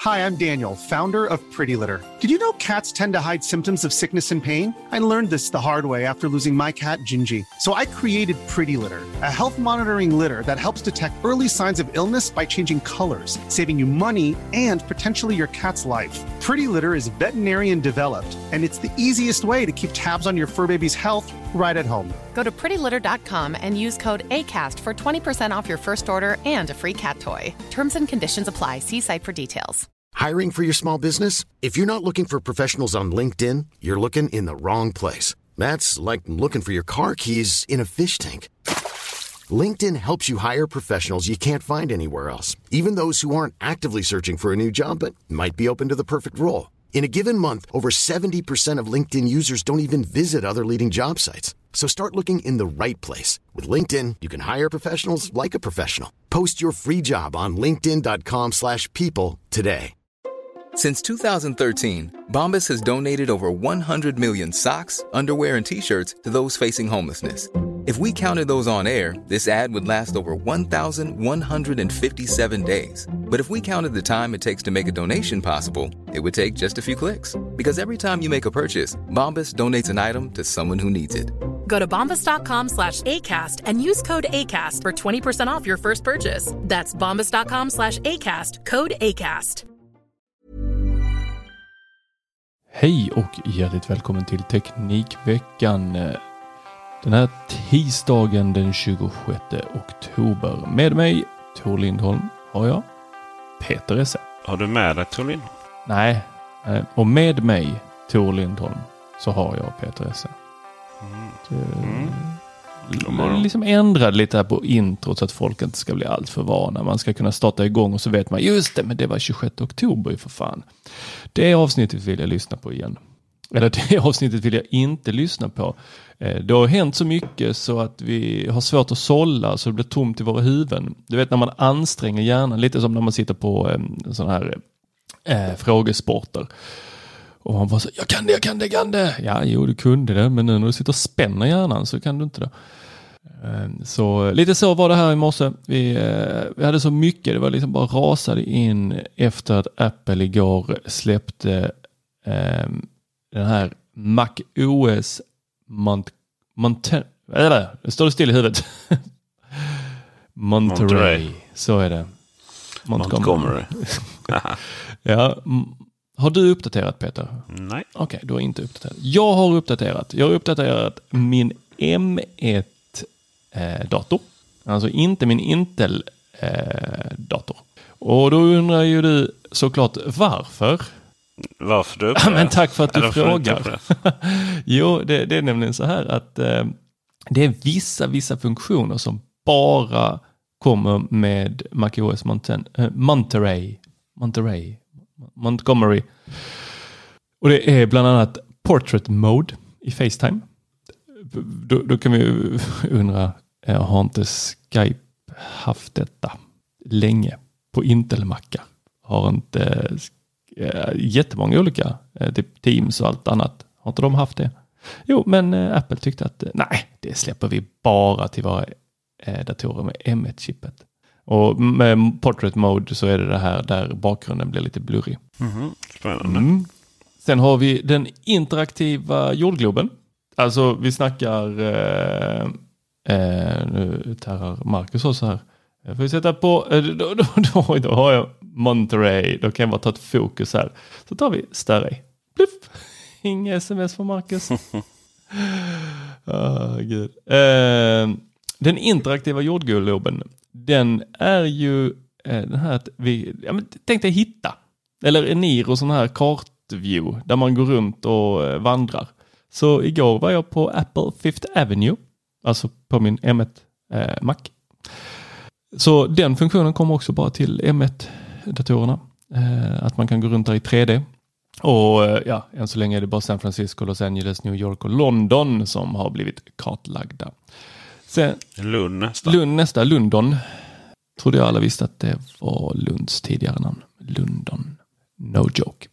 Hi, I'm Daniel, founder of Pretty Litter. Did you know cats tend to hide symptoms of sickness and pain? I learned this the hard way after losing my cat, Gingy. So I created Pretty Litter, a health monitoring litter that helps detect early signs of illness by changing colors, saving you money and potentially your cat's life. Pretty Litter is veterinarian developed, and it's the easiest way to keep tabs on your fur baby's health right at home. Go to prettylitter.com and use code ACAST for 20% off your first order and a free cat toy. Terms and conditions apply. See site for details. Hiring for your small business? If you're not looking for professionals on LinkedIn, you're looking in the wrong place. That's like looking for your car keys in a fish tank. LinkedIn helps you hire professionals you can't find anywhere else, even those who aren't actively searching for a new job but might be open to the perfect role. In a given month, over 70% of LinkedIn users don't even visit other leading job sites. So start looking in the right place. With LinkedIn, you can hire professionals like a professional. Post your free job on linkedin.com/people today. Since 2013, Bombas has donated over 100 million socks, underwear, and T-shirts to those facing homelessness. If we counted those on air, this ad would last over 1,157 days. But if we counted the time it takes to make a donation possible, it would take just a few clicks. Because every time you make a purchase, Bombas donates an item to someone who needs it. Go to bombas.com/ACAST and use code ACAST for 20% off your first purchase. That's bombas.com/ACAST, code ACAST. Hej och hjärtligt välkommen till Teknikveckan. Den här tisdagen den 26 oktober. Med mig, Tor Lindholm, har jag Peter Esse. Har du med dig Tor Lindholm? Nej, och med mig, Tor Lindholm, så har jag Peter Esse. Liksom ändrade lite här på intro så att folk inte ska bli allt för vana. Man ska kunna starta igång och så vet man, just det, men det var 26 oktober för fan. Det avsnittet vill jag lyssna på igen. Eller det avsnittet vill jag inte lyssna på. Det har hänt så mycket så att vi har svårt att sålla så det blir tomt i våra huvuden. Du vet när man anstränger hjärnan, lite som när man sitter på sån här frågesporter. Och man bara så, jag kan det. Ja, jo, du kunde det, men nu när du sitter och spänner hjärnan så kan du inte det. Så lite så var det här i morse. Vi hade så mycket, det var liksom bara rasade in efter att Apple igår släppte den här Mac OS det står still i huvudet. Monterey. Så är det. Montgomery. Ja. Har du uppdaterat, Peter? Nej. Okej, du har inte uppdaterat. Jag har uppdaterat min M1-dator. Alltså inte min Intel-dator. Och då undrar ju du såklart varför. Varför du? Men tack för att du frågar. Jo, det är nämligen så här att det är vissa funktioner som bara kommer med macOS Montgomery. Och det är bland annat Portrait Mode i FaceTime. Då kan vi undra, har inte Skype haft detta länge på Intel-mackar? Har inte jättemånga olika typ Teams och allt annat? Har inte de haft det? Jo, men Apple tyckte att nej, det släpper vi bara till våra datorer med M1-chippet. Och med Portrait Mode så är det här där bakgrunden blir lite blurrig. Spännande. Sen har vi den interaktiva jordgloben. Alltså vi snackar nu tarrar Marcus också här. Jag får sätta på då har jag Monterey. Då kan jag bara ta ett fokus här. Så tar vi Starry. Pluff. Inga sms från Marcus. Gud. Den interaktiva jordgloben, den är ju den här att vi tänkte hitta eller en Niro sån här kartview där man går runt och vandrar. Så igår var jag på Apple Fifth Avenue, alltså på min M1 Mac. Så den funktionen kommer också bara till M1-datorerna. Att man kan gå runt där i 3D. Och ja, än så länge är det bara San Francisco, Los Angeles, New York och London som har blivit kartlagda. Sen, London. Trodde jag alla visste att det var Lunds tidigare namn. London. No joke.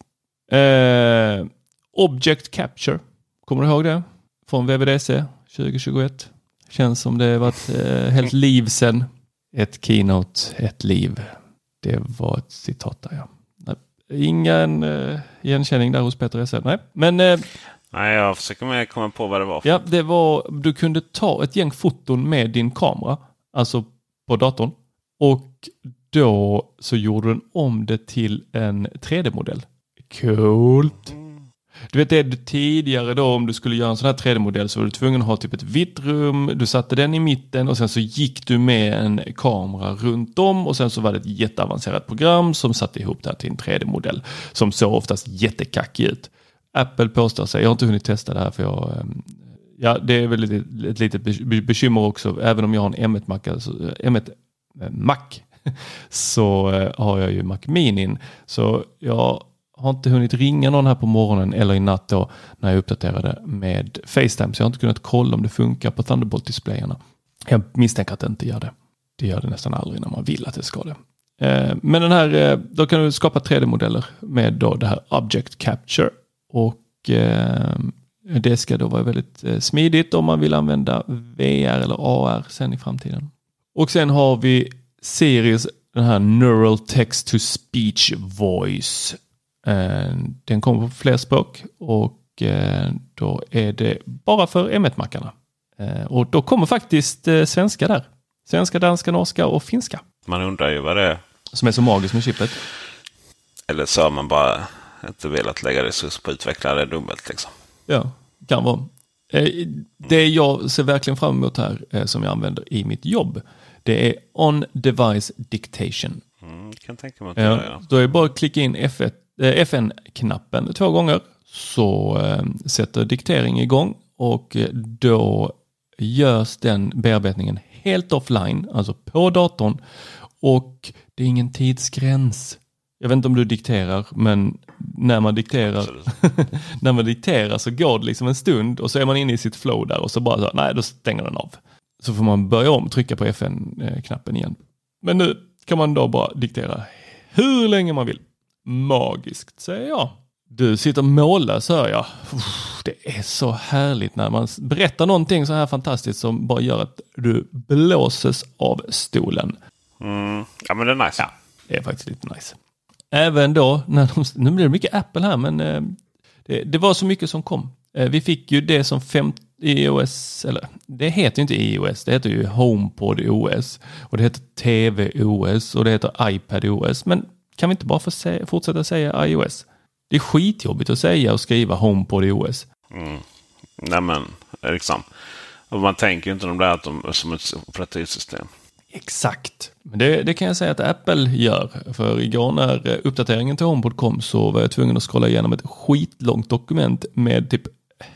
Object Capture. Kommer du ihåg det? Från WWDC 2021. Känns som det var ett helt liv sedan. Ett keynote, ett liv. Det var ett citat där, ja. ingen igenkänning där hos Peter S.L. Nej, men... Nej, jag försöker komma på vad det var. Ja, det var... Du kunde ta ett gäng foton med din kamera, alltså på datorn. Och då så gjorde den om det till en 3D-modell. Coolt! Du vet det tidigare då, om du skulle göra en sån här 3D-modell så var du tvungen att ha typ ett vitt rum. Du satte den i mitten och sen så gick du med en kamera runt om och sen så var det ett jätteavancerat program som satte ihop det här till en 3D-modell som såg oftast jättekackig ut. Apple påstår sig, jag har inte hunnit testa det här för det är väl ett litet bekymmer också, även om jag har en M1 Mac, alltså M1 Mac så har jag ju Mac Mini, så jag har inte hunnit ringa någon här på morgonen eller i natt då när jag uppdaterade med FaceTime, så jag har inte kunnat kolla om det funkar på Thunderbolt-displayerna. Jag misstänker att det inte gör det. Det gör det nästan aldrig när man vill att det ska det. Men den här, då kan du skapa 3D-modeller med då det här Object Capture och det ska då vara väldigt smidigt om man vill använda VR eller AR sen i framtiden. Och sen har vi Siris, den här Neural Text to Speech Voice. Den kommer på fler språk och då är det bara för M1-mackarna. Och då kommer faktiskt svenska där. Svenska, danska, norska och finska. Man undrar ju vad det är. Som är så magiskt med chippet. Eller så har man bara inte velat lägga resurs på att utveckla det dubbelt liksom. Ja, kan vara. Det jag ser verkligen fram emot här som jag använder i mitt jobb, det är on-device dictation. Kan tänka mig att det då är det bara att klicka in FN-knappen 2 gånger så sätter diktering igång och då görs den bearbetningen helt offline, alltså på datorn, och det är ingen tidsgräns. Jag vet inte om du dikterar, men när man dikterar så går det liksom en stund och så är man inne i sitt flow där och så bara så, nej, då stänger den av. Så får man börja om, trycka på FN-knappen igen. Men nu kan man då bara diktera hur länge man vill. Magiskt, säger jag. Du sitter mållös, hör jag. Det är så härligt när man berättar någonting så här fantastiskt som bara gör att du blåses av stolen. Ja, men det är nice. Ja, det är faktiskt lite nice. Även då, nu blir det mycket Apple här, men det var så mycket som kom. Vi fick ju det som iOS, eller det heter ju inte iOS, det heter ju HomePod OS och det heter TV OS och det heter iPad OS, men kan vi inte bara få fortsätta säga iOS? Det är skitjobbigt att säga och skriva HomePod OS. Nej men, liksom. Och man tänker ju inte om det här som ett operativsystem. Exakt. Men det kan jag säga att Apple gör. För igår när uppdateringen till HomePod kom så var jag tvungen att scrolla igenom ett skitlångt dokument med typ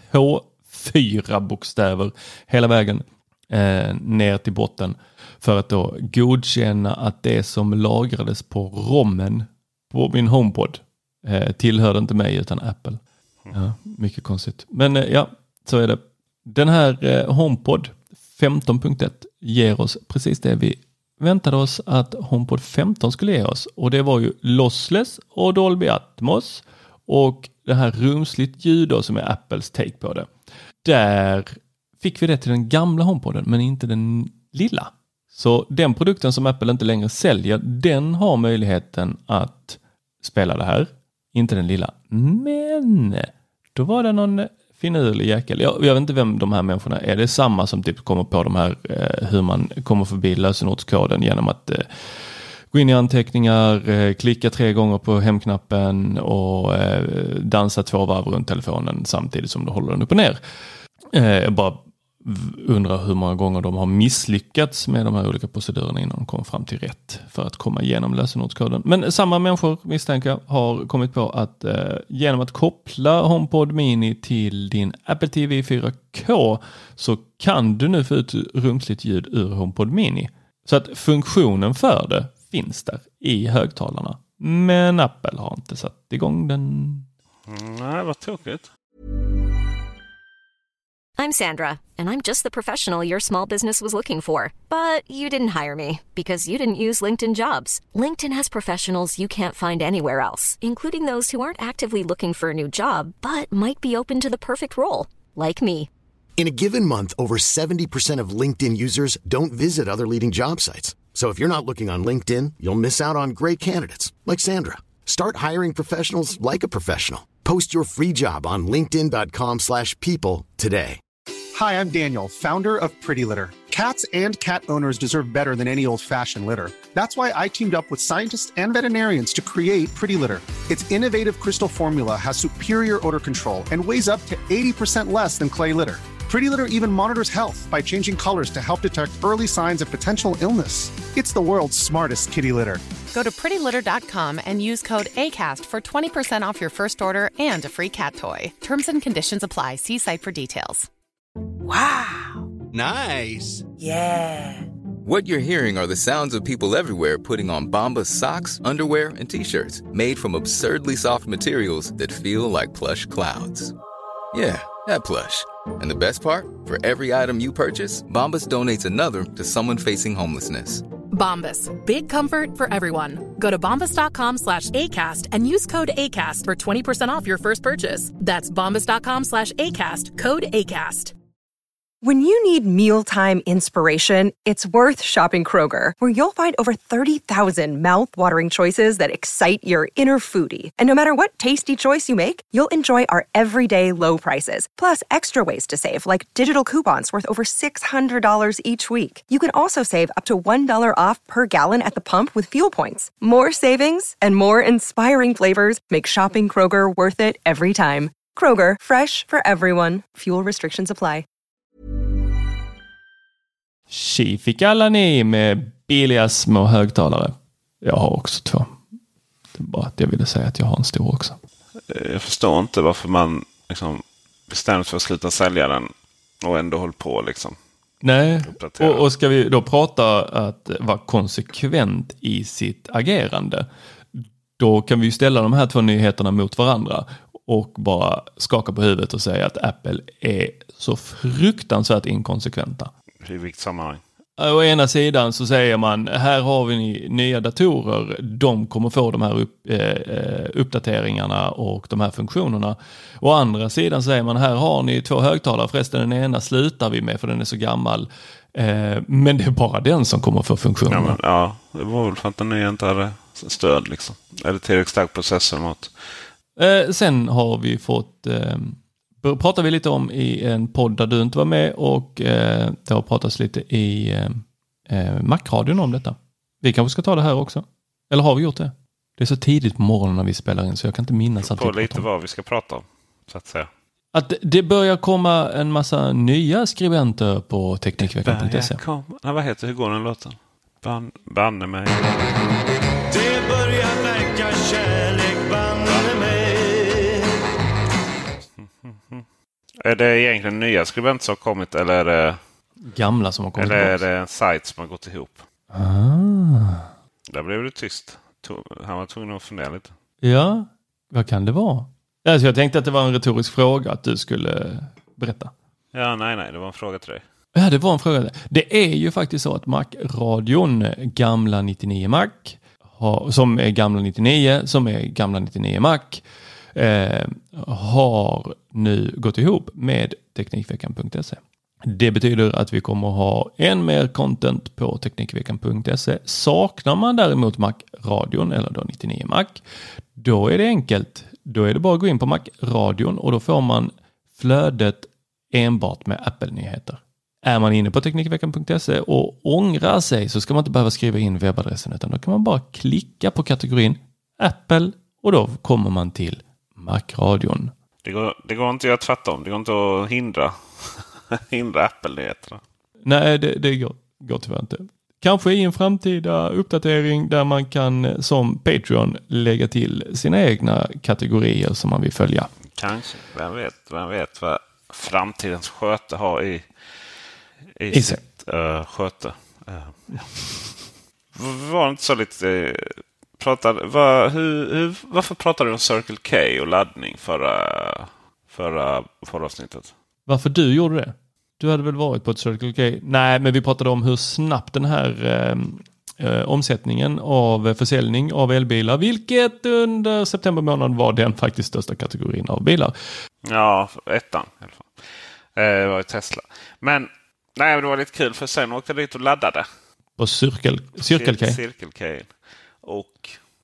H4-bokstäver hela vägen ner till botten för att då godkänna att det som lagrades på rommen på min HomePod tillhörde inte mig utan Apple. Ja, mycket konstigt. Men ja, så är det. Den här HomePod 15.1 ger oss precis det vi väntade oss att HomePod 15 skulle ge oss. Och det var ju lossless och Dolby Atmos och det här rumsligt ljud då, som är Apples take på det. Där fick vi det till den gamla HomePoden men inte den lilla. Så den produkten som Apple inte längre säljer, den har möjligheten att spela det här. Inte den lilla. Men då var det någon finurlig jäkel. Jag vet inte vem de här människorna är. Det är samma som typ kommer på de här hur man kommer förbi lösenordskoden genom att gå in i anteckningar, klicka 3 gånger på hemknappen och dansa 2 varv runt telefonen samtidigt som du håller den upp och ner. Jag bara undrar hur många gånger de har misslyckats med de här olika procedurerna innan de kommer fram till rätt för att komma igenom lösenordskoden. Men samma människor, misstänker jag, har kommit på att genom att koppla HomePod Mini till din Apple TV 4K så kan du nu få ut rumsligt ljud ur HomePod Mini. Så att funktionen för det finns där i högtalarna. Men Apple har inte satt igång den. Nej, vad tråkigt. I'm Sandra, and I'm just the professional your small business was looking for. But you didn't hire me because you didn't use LinkedIn Jobs. LinkedIn has professionals you can't find anywhere else, including those who aren't actively looking for a new job, but might be open to the perfect role, like me. In a given month, over 70% of LinkedIn users don't visit other leading job sites. So if you're not looking on LinkedIn, you'll miss out on great candidates, like Sandra. Start hiring professionals like a professional. Post your free job on linkedin.com/people today. Hi, I'm Daniel, founder of Pretty Litter. Cats and cat owners deserve better than any old-fashioned litter. That's why I teamed up with scientists and veterinarians to create Pretty Litter. Its innovative crystal formula has superior odor control and weighs up to 80% less than clay litter. Pretty Litter even monitors health by changing colors to help detect early signs of potential illness. It's the world's smartest kitty litter. Go to prettylitter.com and use code ACAST for 20% off your first order and a free cat toy. Terms and conditions apply. See site for details. Wow. Nice. Yeah. What you're hearing are the sounds of people everywhere putting on Bombas socks, underwear, and T-shirts made from absurdly soft materials that feel like plush clouds. Yeah, that plush. And the best part? For every item you purchase, Bombas donates another to someone facing homelessness. Bombas. Big comfort for everyone. Go to bombas.com/ACAST and use code ACAST for 20% off your first purchase. That's bombas.com/ACAST. Code ACAST. When you need mealtime inspiration, it's worth shopping Kroger, where you'll find over 30,000 mouth-watering choices that excite your inner foodie. And no matter what tasty choice you make, you'll enjoy our everyday low prices, plus extra ways to save, like digital coupons worth over $600 each week. You can also save up to $1 off per gallon at the pump with fuel points. More savings and more inspiring flavors make shopping Kroger worth it every time. Kroger, fresh for everyone. Fuel restrictions apply. Tji fick alla ni med billiga små högtalare. Jag har också 2. Det är bara att jag ville säga att jag har en stor också. Jag förstår inte varför man liksom bestämt för att sluta sälja den och ändå håller på liksom. Nej, och ska vi då prata att vara konsekvent i sitt agerande, då kan vi ju ställa de här 2 nyheterna mot varandra och bara skaka på huvudet och säga att Apple är så fruktansvärt inkonsekventa. I vilket sammanhang? Å ena sidan så säger man, här har vi nya datorer, de kommer få de här uppdateringarna och de här funktionerna. Å andra sidan säger man, här har ni 2 högtalare, förresten den ena slutar vi med för den är så gammal. Men det är bara den som kommer få funktionerna. Ja, det var väl för att den nya inte hade stöd liksom. Eller tillräckligt stark processor mot. Sen har vi fått... pratar vi lite om i en podd där du inte var med, och det har pratats lite i Mac-radion om detta. Vi kanske ska ta det här också. Eller har vi gjort det? Det är så tidigt på morgonen när vi spelar in så jag kan inte minnas att vi pratar om. Lite vad vi ska prata om, så att säga. Att det börjar komma en massa nya skribenter på teknikveckan.se. Hur går den låten? Banne mig. Det börjar verka kärlek, banne mig. Är det egentligen nya skribenter som har kommit, eller är det gamla som har kommit? Eller är det en sajt som har gått ihop? Där blev det tyst. Han var tvungen att fundera lite. Ja, vad kan det vara? Alltså jag tänkte att det var en retorisk fråga att du skulle berätta. Ja, nej, det var en fråga till dig. Ja, det var en fråga. Det är ju faktiskt så att Mac-radion, gamla 99 Mac, som är gamla 99, som är gamla 99 Mac, har nu gått ihop med teknikveckan.se. Det betyder att vi kommer att ha än mer content på teknikveckan.se. Saknar man däremot Mac-radion eller då 99 Mac, då är det enkelt. Då är det bara att gå in på Mac-radion och då får man flödet enbart med Apple-nyheter. Är man inne på teknikveckan.se och ångrar sig så ska man inte behöva skriva in webbadressen, utan då kan man bara klicka på kategorin Apple och då kommer man till Mac-radion. Det går inte att tvärtom. Det går inte att hindra Apple-nyheterna. Nej, det går tyvärr inte. Kanske i en framtida uppdatering där man kan som Patreon lägga till sina egna kategorier som man vill följa. Kanske. Vem vet vad framtidens sköte har i sitt sköte. Var det inte så lite... Varför pratade du om Circle K och laddning förra avsnittet? Varför du gjorde det? Du hade väl varit på ett Circle K? Nej, men vi pratade om hur snabbt den här omsättningen av försäljning av elbilar, vilket under september månad var den faktiskt största kategorin av bilar. Ja, ettan i alla fall. Det var ju Tesla. Men nej, det var lite kul för sen åkte jag dit och laddade. På Circle K? Circle K. Och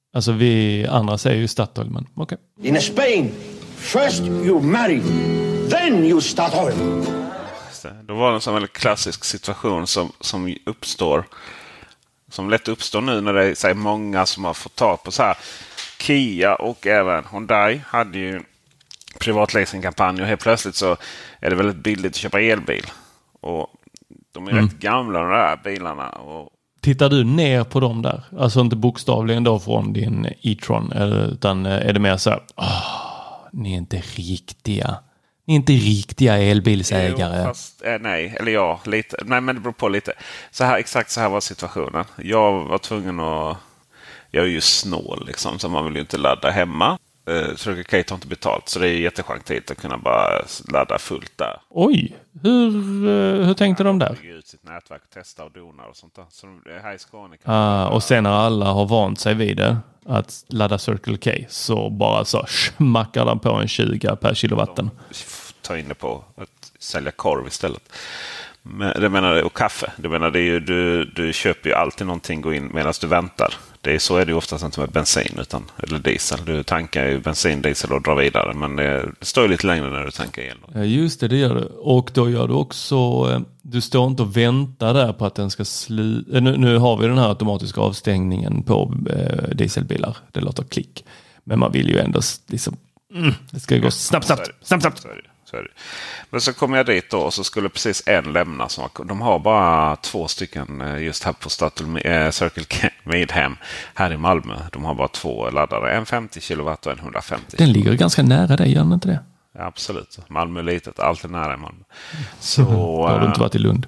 Alltså vi andra säger ju Statoil, men okej. In Spain, first you marry, then you Statoil. Då var det en sån väldigt klassisk situation som uppstår. Som lätt uppstår nu när det är så här, många som har fått tag på så här. Kia och även Hyundai hade ju privatleasingkampanj och helt plötsligt så är det väldigt billigt att köpa elbil. Och de är rätt gamla de där bilarna. Och tittar du ner på dem där? Alltså inte bokstavligen då från din e-tron, utan är det mer så här, ni är inte riktiga. Ni är inte riktiga elbilsägare. Jo, fast, nej, eller ja, lite. Nej, men det beror på lite. Exakt så här var situationen. Jag var tvungen att... Jag är ju snål liksom, så man vill ju inte ladda hemma. Circle K tar inte betalt, så det är jättechantigt att kunna bara ladda fullt där. Oj, hur tänkte de där? Bygga ut sitt nätverk, testa och donar och sånt där. Så här i Skåne och sen när alla har vant sig vid det, att ladda Circle K, så bara så smackar de på en 20 per kilowatten. Ta in det på att sälja korv istället. Men, det menar, och kaffe. Det menar, det är ju, du köper ju alltid någonting, gå in medan du väntar. Så är det ju oftast inte med bensin eller diesel. Du tankar ju bensin, diesel och drar vidare. Men det står ju lite längre när du tankar el. Ja, just det gör du. Och då gör du också... Du står inte och väntar där på att den ska nu har vi den här automatiska avstängningen på dieselbilar. Det låter klick. Men man vill ju ändå liksom... det ska ju gå snabbt. Så är det. Men så kom jag dit då och så skulle precis en lämna. De har bara 2 stycken just här på Circle K Midhem här i Malmö. De har bara 2 laddare. En 50 kW och en 150 kW. Den ligger ganska nära dig, gör den inte det? Ja, absolut. Malmö är litet. Allt är nära i Malmö. Så har du inte varit i Lund?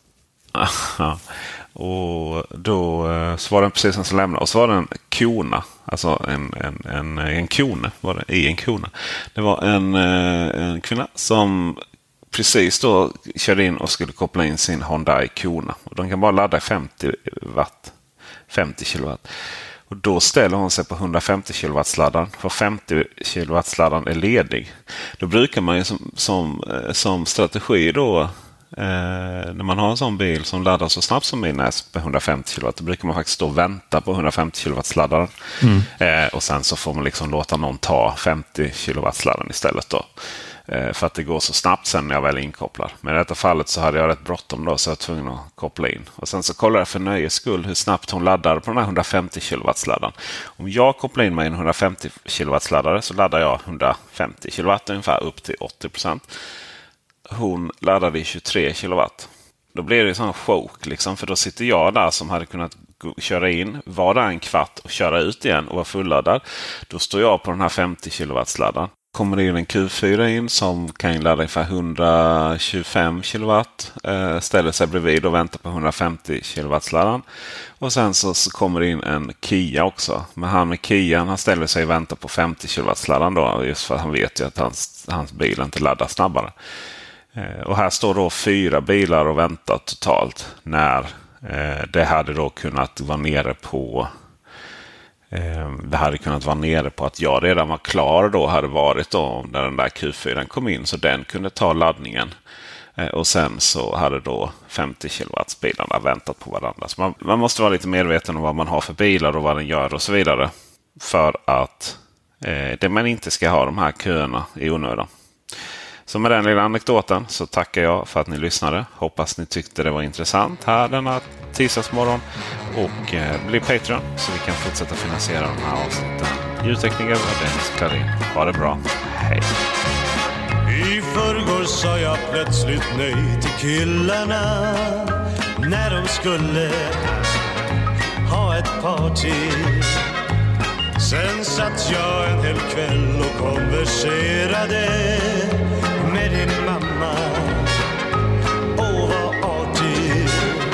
Och då så var den precis en som lämnade. Och så var det en kona. Alltså en kone var det, i en kona. Det var en kvinna som precis då körde in och skulle koppla in sin Hyundai Kona. Och de kan bara ladda 50 kW. Och då ställer hon sig på 150 kW-laddaren. För 50 kW-laddaren är ledig. Då brukar man ju som strategi då... när man har en sån bil som laddar så snabbt som min på 150 kW, då brukar man faktiskt stå och vänta på 150 kW-laddaren. Och sen så får man liksom låta någon ta 50 kW-laddaren istället då. För att det går så snabbt sen när jag väl inkopplar. Men i detta fallet så hade jag rätt bråttom då, så jag var tvungen att koppla in. Och sen så kollade jag för nöjes skull hur snabbt hon laddar på den här 150 kW-laddaren. Om jag kopplar in mig i en 150 kW-laddare så laddar jag 150 kW ungefär upp till 80%. Hon laddade i 23 kW. Då blir det en sån chock liksom, för då sitter jag där som hade kunnat köra in, vara där en kvart och köra ut igen och vara fulladdad. Då står jag på den här 50 kW-laddaren. Kommer det in en Q4 in som kan ladda ungefär 125 kW. Ställer sig bredvid och väntar på 150 kW-laddaren. Och sen så kommer det in en Kia också. Men han med Kia, han ställer sig och väntar på 50 kW-laddaren då. Just för att han vet ju att hans bil inte laddar snabbare. Och här står då 4 bilar och väntar totalt. När det hade då kunnat vara nere på... Det hade kunnat vara nere på att jag redan var klar då, hade varit då när den där Q4 kom in, så den kunde ta laddningen. Och sen så hade då 50 kW-bilarna väntat på varandra. Så man måste vara lite medveten om vad man har för bilar och vad den gör och så vidare. För att det man inte ska ha de här köerna i onödan. Så med den lilla anekdoten så tackar jag för att ni lyssnade. Hoppas ni tyckte det var intressant här denna tisdagsmorgon. Och bli Patreon så vi kan fortsätta finansiera de här avsnitten. Ljudtekniker och Dennis Klarin. Ha det bra. Hej! I förrgår sa jag plötsligt nej till killarna när de skulle ha ett party. Sen satt jag en hel kväll och konverserade med din mamma. Åh, vad artig.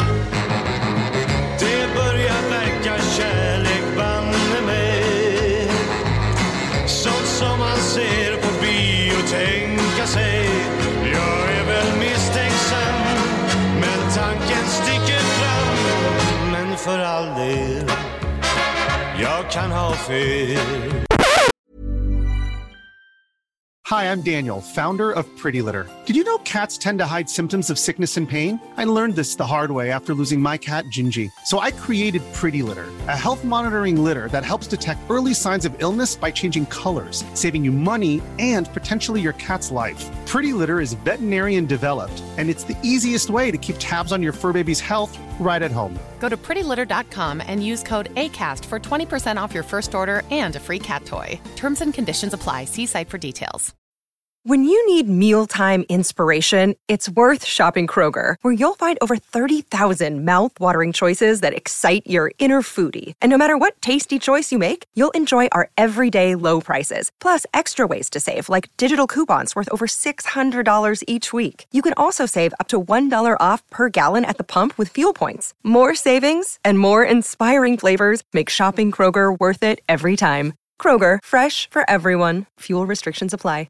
Det börjar verka kärlek, banne mig. Sånt som man ser på bio, tänka sig. Jag är väl misstänksam, men tanken sticker fram. Men för all del, jag kan ha fel. Hi, I'm Daniel, founder of Pretty Litter. Did you know cats tend to hide symptoms of sickness and pain? I learned this the hard way after losing my cat, Gingy. So I created Pretty Litter, a health monitoring litter that helps detect early signs of illness by changing colors, saving you money and potentially your cat's life. Pretty Litter is veterinarian developed, and it's the easiest way to keep tabs on your fur baby's health right at home. Go to prettylitter.com and use code ACAST for 20% off your first order and a free cat toy. Terms and conditions apply. See site for details. When you need mealtime inspiration, it's worth shopping Kroger, where you'll find over 30,000 mouth-watering choices that excite your inner foodie. And no matter what tasty choice you make, you'll enjoy our everyday low prices, plus extra ways to save, like digital coupons worth over $600 each week. You can also save up to $1 off per gallon at the pump with fuel points. More savings and more inspiring flavors make shopping Kroger worth it every time. Kroger, fresh for everyone. Fuel restrictions apply.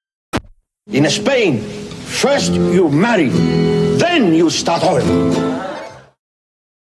In Spain, first you marry, then you start over.